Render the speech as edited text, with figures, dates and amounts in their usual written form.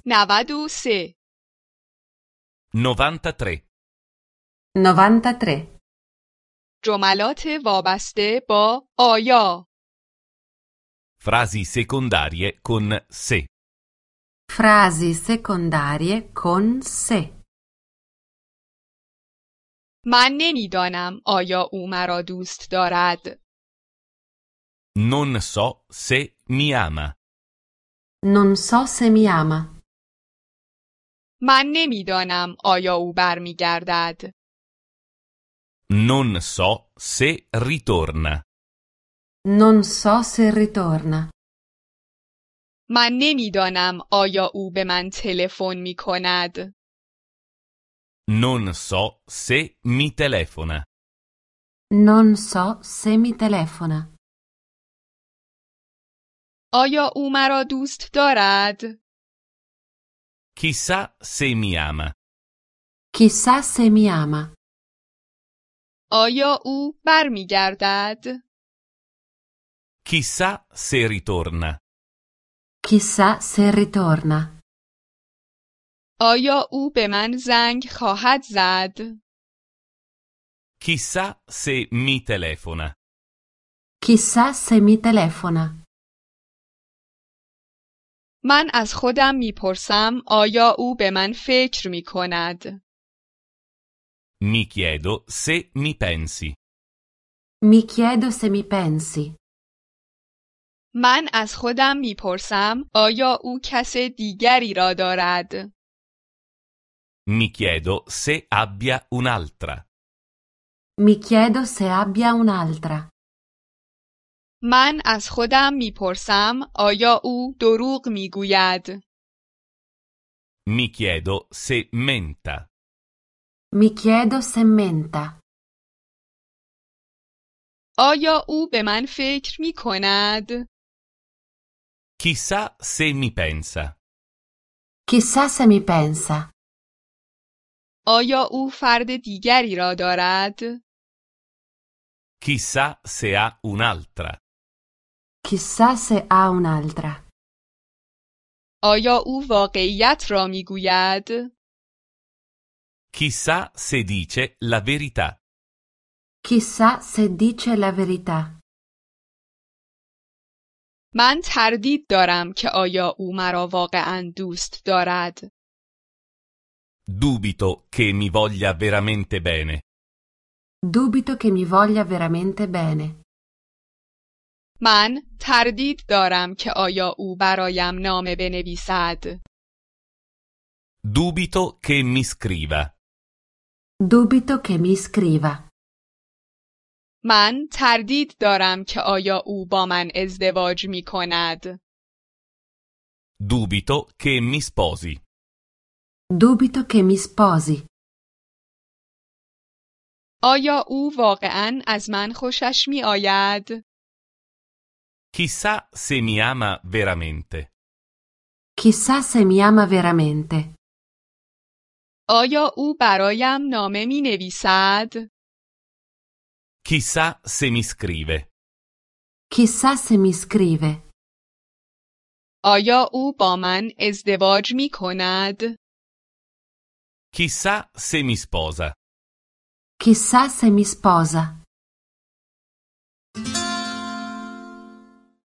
93 93. 93. جملات وابسته با آیا Frasi secondarie con se. Frasi secondarie con se. من نمیدانم آیا او مرا دوست دارد. Non so se mi ama. Non so se mi ama. من نمیدانم آیا او برمیگردد. Non so se ritorna. Non so se ritorna. من نمیدانم آیا او به من تلفن می کند. Non so se mi telefona. Non so se mi telefona. آیا او مرا دوست دارد؟ Chissà se mi ama. Chissà se mi ama. آیا او برمیگردد؟ Chissà se ritorna. Chissà se ritorna. آیا او به من زنگ خواهد زد؟ Chissà se mi telefona. Chissà se mi telefona. من از خودم میپرسم آیا او به من فکر می کند؟ Mi chiedo se mi pensi. Mi chiedo se mi pensi. من از خودم میپرسم آیا او کس دیگری را دارد؟ Mi chiedo se abbia un'altra. Mi chiedo se abbia un'altra. من از خودم میپرسم آیا او دروغ میگوید؟ Mi chiedo se menta. Mi chiedo se menta. آیا او به من فکر می کند؟ Chissà se mi pensa. Chissà se mi pensa. آیا او فرد دیگری را دارد؟ Chissà se ha un'altra. Chissà se ha un'altra. آیا او واقعیت را میگوید؟ Chissà se dice la verità. Chissà se dice la verità. من تردید دارم که آیا او مرا واقعاً دوست دارد. Dubito che mi voglia veramente bene. Dubito che mi voglia veramente bene. من تردید دارم که آیا او برایم نامه بنویسد. Dubito che mi scriva. Dubito che mi scriva. من تردید دارم که آیا او با من ازدواج می کند. Dubito che mi sposi. Dubito che mi sposi. آیا او واقعاً از من خوشش می آید؟ Chissà se mi ama veramente. Chissà se mi ama veramente. آیا او برایم نامه می نویسد؟ Chissà se mi scrive. Chissà se mi scrive. آیا او با من ازدواج می کند؟ Chissà se mi sposa. Chissà se mi sposa.